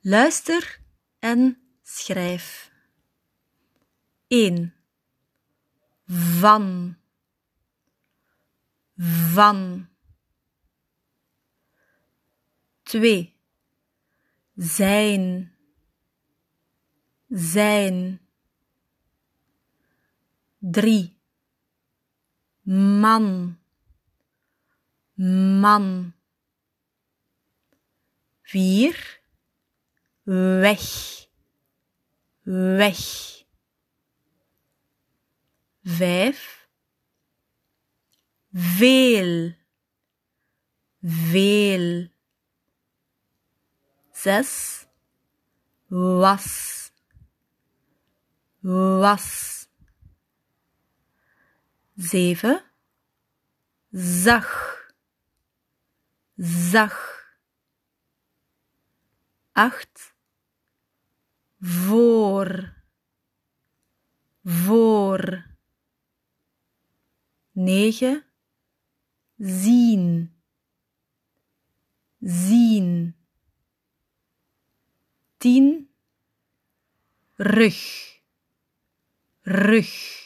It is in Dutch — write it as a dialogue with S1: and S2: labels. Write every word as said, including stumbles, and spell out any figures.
S1: Luister en schrijf. één. Van. Van. twee. Zijn. Zijn. drie. Man. Man. vier. Weg. Weg. vijf. Veel. Veel. zes. Was. Was. zeven. Zag. Zag. acht. Voor. Voor. negen. Zien. Zien. tien. Rug. Rug.